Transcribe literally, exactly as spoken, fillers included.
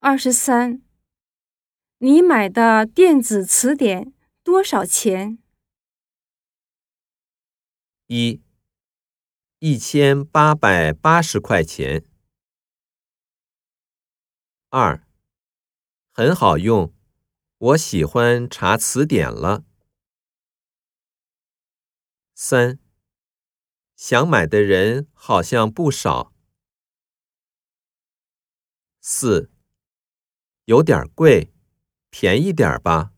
二十三，你买的电子词典多少钱？ 一，一千八百八十块钱。二，很好用，我喜欢查词典了。三，想买的人好像不少。四，有点贵，便宜点吧。